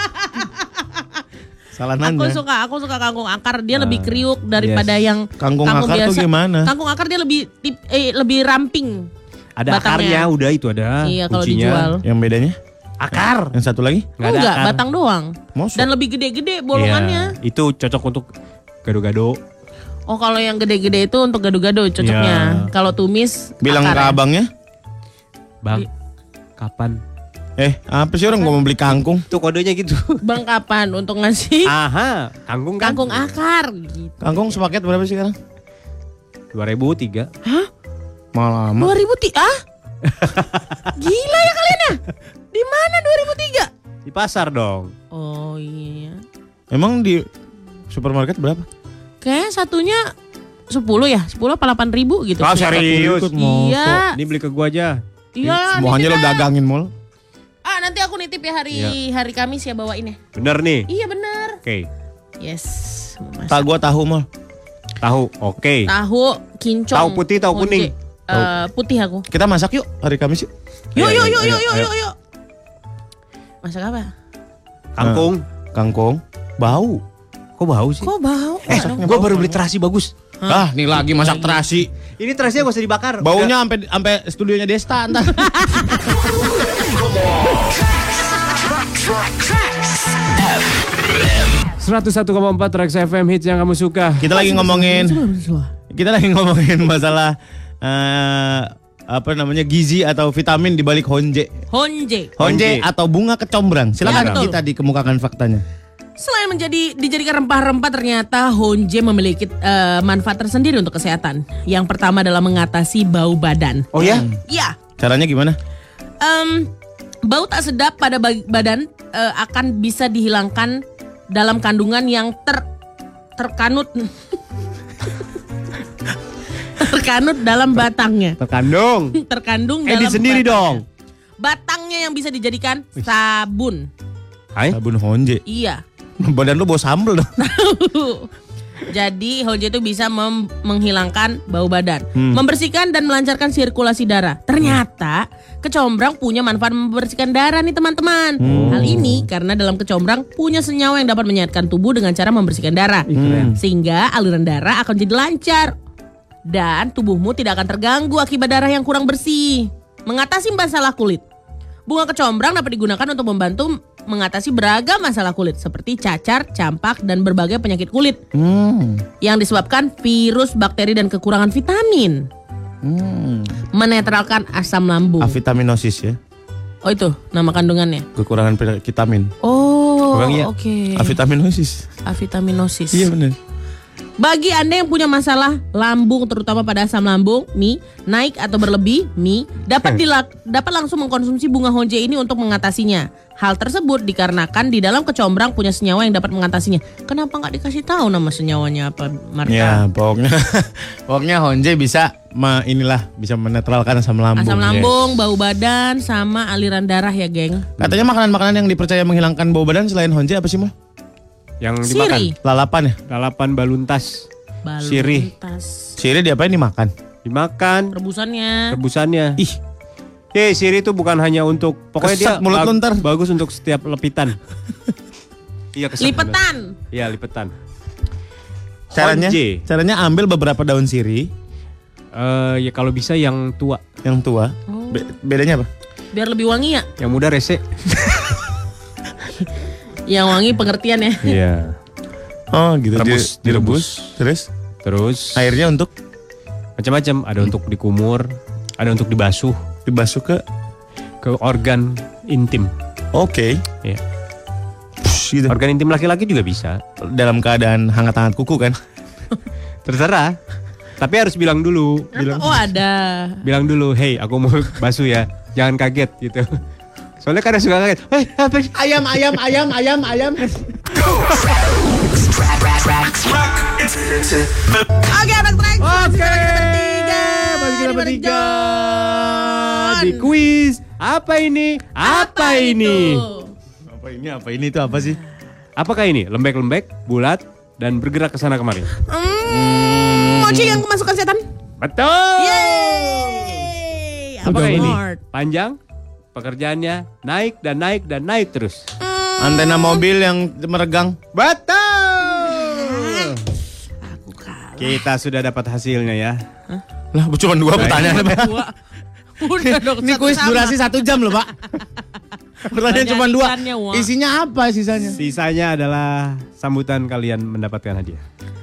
Salah nanya. Aku suka kangkung akar. Dia lebih kriuk daripada Yes. yang Kangkung akar tuh biasa. gimana? Kangkung akar dia lebih lebih ramping. Ada batangnya. akarnya, udah itu ada. Iya, kalau kuncinya. dijual. Yang bedanya? Akar. Yang satu lagi? Nggak ada Enggak, akar. batang doang. Mosok? Dan lebih gede-gede bolongannya. Iya, itu cocok untuk gado-gado. Oh, kalau yang gede-gede itu untuk gado-gado cocoknya. Iya. Kalau tumis Bilang ke akarnya. abangnya. Bang, kapan? Apa sih orang gua mau beli kangkung? Itu kodenya gitu. Bang kapan untuk ngasih Aha, kangkung kan? kangkung akar gitu. Kangkung sepaket berapa sih sekarang? 2003. Malah amat. 2003? Ah? Gila ya kalian ya? Di mana 2003? Di pasar dong. Oh iya. Emang di supermarket berapa? Kayak satunya 10 ya? 10 apa 8.000 gitu. Oh, serius? Iya. Ini beli ke gua aja. Iya. Semuanya lo nitip ya. dagangin mall. Ah, nanti aku nitip ya hari Kamis ya bawain ya. Bener nih. Iya bener. Oke. Yes. Masak. Tak gua tahu mall. Tahu. Oke. Tahu kincong. Tahu putih, tahu honje. kuning? Putih aku. Kita masak yuk hari Kamis yuk. Yuk. Ayo. Masak apa? Kangkung. Kangkung. Bau. Kok bau sih? Kok bau? Gua baru beli terasi bagus. Ah, nih lagi masak terasi. Ini terasinya gak usah dibakar. Baunya sampai studionya Desta entar. 101,4 Trax FM hits yang kamu suka. Kita lagi ngomongin masalah apa namanya gizi atau vitamin di balik honje. Honje. Honje atau bunga kecombrang. Silakan Ya, betul. kita dikemukakan faktanya. Selain dijadikan rempah-rempah, ternyata honje memiliki manfaat tersendiri untuk kesehatan. Yang pertama adalah mengatasi bau badan. Oh ya? Ya, Caranya gimana? bau tak sedap pada badan akan bisa dihilangkan dalam kandungan yang terkanut dalam batangnya. Terkandung dalam Edit sendiri batangnya. dong. Batangnya yang bisa dijadikan sabun. Hai? Sabun honje. Iya. Badan lu bau sambel dong. Jadi honje itu bisa menghilangkan bau badan, membersihkan dan melancarkan sirkulasi darah. Ternyata kecombrang punya manfaat membersihkan darah nih teman-teman. Hal ini karena dalam kecombrang punya senyawa yang dapat menyehatkan tubuh dengan cara membersihkan darah, sehingga aliran darah akan jadi lancar dan tubuhmu tidak akan terganggu akibat darah yang kurang bersih. Mengatasi masalah kulit. Bunga kecombrang dapat digunakan untuk membantu mengatasi beragam masalah kulit seperti cacar, campak, dan berbagai penyakit kulit yang disebabkan virus, bakteri, dan kekurangan vitamin. Menetralkan asam lambung. Avitaminosis ya. Oh itu nama kandungannya. Kekurangan vitamin. Oh Kurang ya? oke. Avitaminosis. Avitaminosis. Iya benar. Bagi Anda yang punya masalah lambung, terutama pada asam lambung, naik atau berlebih, dapat langsung mengkonsumsi bunga honje ini untuk mengatasinya. Hal tersebut dikarenakan di dalam kecombrang punya senyawa yang dapat mengatasinya. Kenapa nggak dikasih tahu nama senyawanya apa, Marta? Ya, pokoknya honje bisa bisa menetralkan asam lambung. Asam lambung, bau badan, sama aliran darah ya, geng. Katanya makanan-makanan yang dipercaya menghilangkan bau badan selain honje apa sih, Mal? Yang dimakan. Siri. Lalapan ya? Lalapan baluntas. Sirih. Baluntas. Sirih diapain dimakan? Dimakan. Rebusannya. Rebusannya. Ih, Sirih itu bukan hanya untuk, pokoknya Keset dia mulut lu ntar. bagus untuk setiap lepitan. Iya, keset. Lipetan. Iya, lipetan. caranya Honje. ambil beberapa daun sirih Ya kalau bisa yang tua. yang tua. Bedanya apa? Biar lebih wangi ya. Yang muda rese. Yang wangi pengertian ya. Iya. Oh, gitu. Direbus. Terus Terus airnya untuk macam-macam, ada untuk dikumur, ada untuk dibasuh dibasuh ke organ intim. Oke. Iya. Gitu. Organ intim laki-laki juga bisa. Dalam keadaan hangat-hangat kuku kan? Terserah. Tapi harus bilang dulu. Oh ada. Bilang dulu, hey aku mau basuh ya. Jangan kaget gitu. Soalnya kadang suka kaget. Apa sih? Ayam. Oke anak Trax. Oke. Bagi kita bertiga. Di kuis. Apa ini? Apa ini? Apa ini itu apa sih? Apakah ini? Lembek-lembek, bulat, dan bergerak ke sana kemari. Mochi yang kemasukan setan. Betul. Yeay. Apakah ini? Award. Panjang, pekerjaannya naik dan naik dan naik terus. Antena mobil yang meregang. Betul. Aku kalah. Kita sudah dapat hasilnya ya. Lah, cuma 2 pertanyaan. Udah dong. Ini kuis durasi 1 jam loh, Pak. Pertanyaan cuma 2. Ikannya, wah. Isinya apa sisanya? Sisanya adalah sambutan kalian mendapatkan hadiah.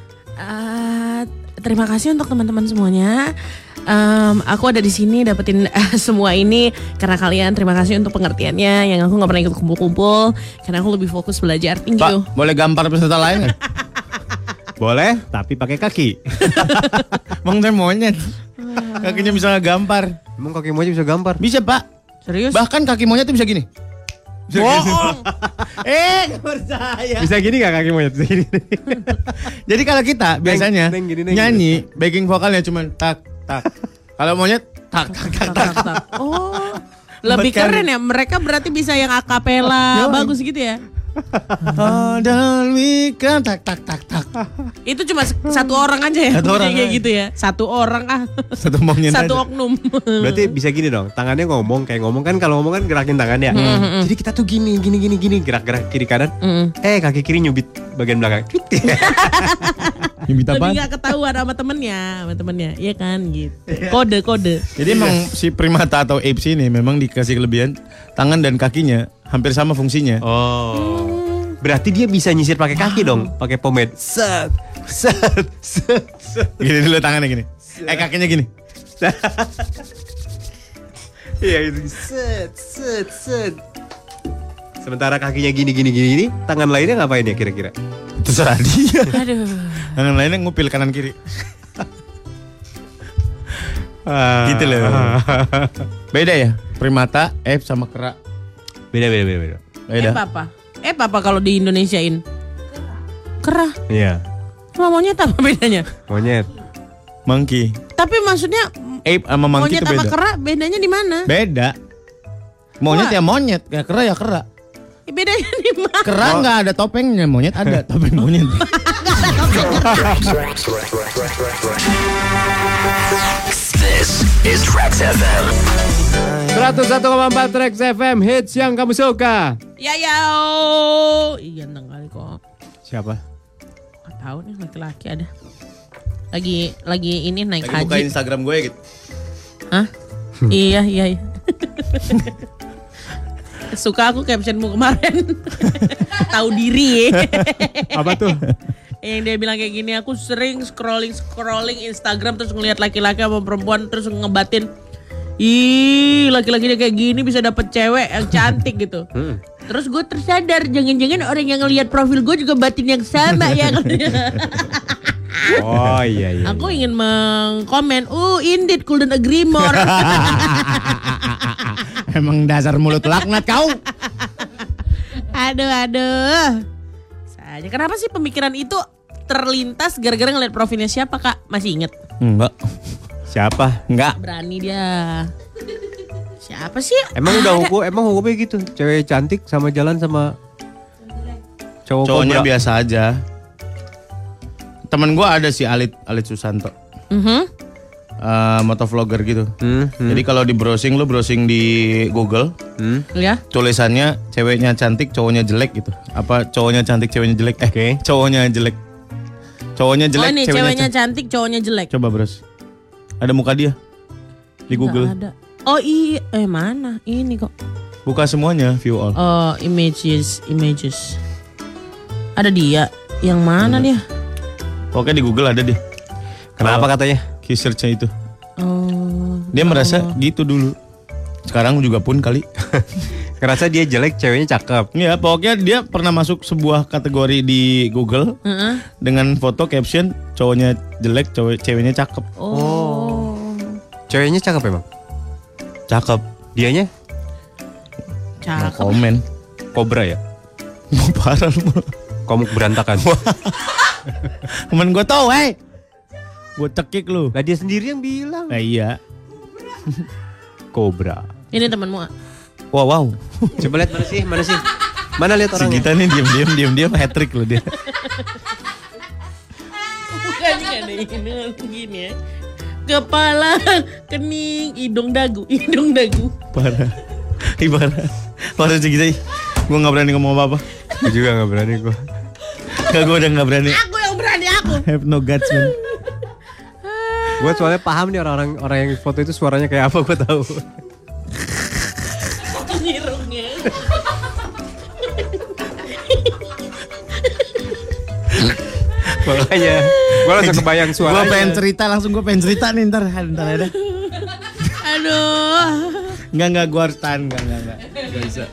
Terima kasih untuk teman-teman semuanya. Aku ada di sini dapetin semua ini karena kalian. Terima kasih untuk pengertiannya. Yang aku nggak pernah ikut kumpul-kumpul karena aku lebih fokus belajar. Thank you. Pak, boleh gampar peserta lain nggak? Boleh, tapi pakai kaki. Bang, saya monyet. Kakinya bisa gampar. Emang kaki monyet bisa gampar? Bisa, Pak. Serius? Bahkan kaki monyet itu bisa gini. Bohong. Nggak percaya. Bisa gini gak kaki monyet? Bisa gini. Jadi kalau kita biasanya neng, gini, neng, nyanyi, backing vokalnya cuma tak tak. Kalau monyet tak tak tak tak. Oh, lebih keren ya. Mereka berarti bisa yang akapela bagus gitu ya. Oh, dan we can tak tak tak tak. Itu cuma satu orang aja ya. Satu orang kayak aja. gitu ya. Satu orang Satu monyet. Satu aja. oknum. Berarti bisa gini dong, tangannya ngomong kayak ngomong kan, kalau ngomong kan gerakin tangannya. Jadi kita tuh gini gerak-gerak kiri kanan. Kaki kiri nyubit bagian belakang. Nyubit apa? Lebih gak ketahuan sama temennya, iya kan gitu. Kode. Jadi emang si primata atau apes ini memang dikasih kelebihan tangan dan kakinya hampir sama fungsinya. Oh. Berarti dia bisa nyisir pakai kaki dong, pakai pomade. Set. Gini dulu tangannya gini. Kakinya gini. Iya gitu. Set. Sementara kakinya gini, tangan lainnya ngapain ya kira-kira? Terserah dia. Aduh. Tangan lainnya ngupil kanan kiri. Gitu loh. Beda ya? Primata, apes sama kera. Beda. Beda. Apa kalau di Indonesiain? Kera. Iya. Sama monyet apa bedanya? Monyet. Monkey. Tapi maksudnya Ape sama monkey monyet itu sama beda. kera bedanya di mana? Beda. Monyet ya monyet, ya kera ya kera. Bedanya di mana? Kera nggak ada topengnya, monyet ada topeng monyet. This is Trax FM. 101,4 Trax FM, hits yang kamu suka. Ya. Iya ganteng kali kok. Siapa? Gak tahu nih laki-laki ada. Lagi ini naik Lagi buka haji. Instagram gue gitu. Hah? Iya. Suka aku captionmu kemarin. Tahu diri. Apa tuh? Yang dia bilang kayak gini, aku sering scrolling Instagram terus ngelihat laki-laki sama perempuan terus ngebatin, ih laki-lakinya kayak gini bisa dapet cewek yang cantik gitu. Terus gue tersadar jangan-jangan orang yang ngelihat profil gue juga batin yang sama ya. Oh iya. Aku ingin mengkomen, indeed couldn't agree more. Emang dasar mulut laknat kau. Aduh. Saja. Kenapa sih pemikiran itu terlintas gara-gara ngeliat profilnya siapa, Kak? Masih inget? Enggak. Siapa? Enggak. Berani dia. Siapa sih? Emang udah hukumnya gitu. Cewek cantik sama jalan sama Cowoknya kobra. biasa aja. Temen gue ada si Alit Susanto. Motovlogger gitu. Jadi kalau di browsing di Google, Ya. tulisannya ceweknya cantik, cowoknya jelek gitu. Apa cowoknya cantik, ceweknya jelek? Oke. Cowoknya jelek. Cowoknya jelek, Oh ini ceweknya cantik, cowoknya jelek. Coba bros. Ada muka dia di Google. Nggak ada. Oh iya, mana? Ini kok. Buka semuanya, view all. Oh, images. Ada dia. Yang mana dia? Oke di Google ada deh. Kenapa katanya? Research-nya itu. Oh. Dia merasa gitu dulu. Sekarang juga pun kali. Ngerasa dia jelek, ceweknya cakep. Ya pokoknya dia pernah masuk sebuah kategori di Google dengan foto caption cowoknya jelek, ceweknya cakep. Oh. Ceweknya cakep emang? Cakep. Dianya No Cakep. komen. kobra ya? Parah lu. Komuk berantakan. Temen gue tau, gue cekik lu. Lah dia sendiri yang bilang. Nah iya. Kobra. Ini temanmu. Wow. Coba lihat mana sih? Mana lihat Si orangnya? kita nih diam hat trick lu dia. Bukannya ada ini gini ya. Kepala, kening, hidung dagu. Parah. Parah si kita. Gue gak berani ngomong apa-apa. Gue juga gak berani gue. Gue udah gak berani. Aku yang berani aku. Have no guts man. Gue soalnya paham nih orang yang foto itu suaranya kayak apa, gue tahu. Nyirungnya. Makanya gue langsung kebayang suaranya. Gue pengen cerita nih ntar ada. Aduh. Enggak gue harus tahan, enggak. Gak bisa.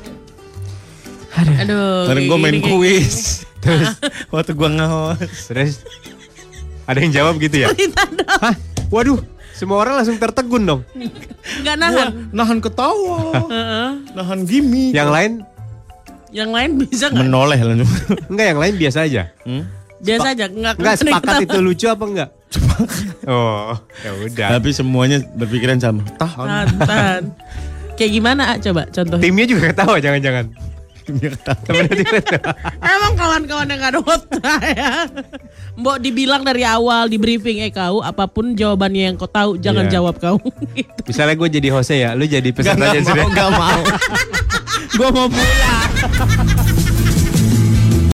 Aduh. Kemarin gue kayak main gini, kuis. Terus waktu gue nge-host. Terus ada yang jawab gitu ya? Cerita dong. Hah? Waduh, semua orang langsung tertegun dong. Enggak nahan. Nahan ketawa. Nahan gimmick. Yang lain bisa nggak? Menoleh lah. enggak, yang lain biasa aja. Biasa aja. Enggak Sepakat itu lucu apa enggak? Oh, ya udah. Tapi semuanya berpikiran sama. Tahan. Kayak gimana coba contoh. Timnya juga ketawa jangan-jangan. Temennya juga ketawa. Emang kawan-kawan yang gak ada ya. Mbok dibilang dari awal di briefing kau apapun jawabannya yang kau tahu jangan Iya. jawab kau. Gitu. Misalnya gue jadi Jose ya, lu jadi peserta aja sudah. Gak mau. Gue mau pulang.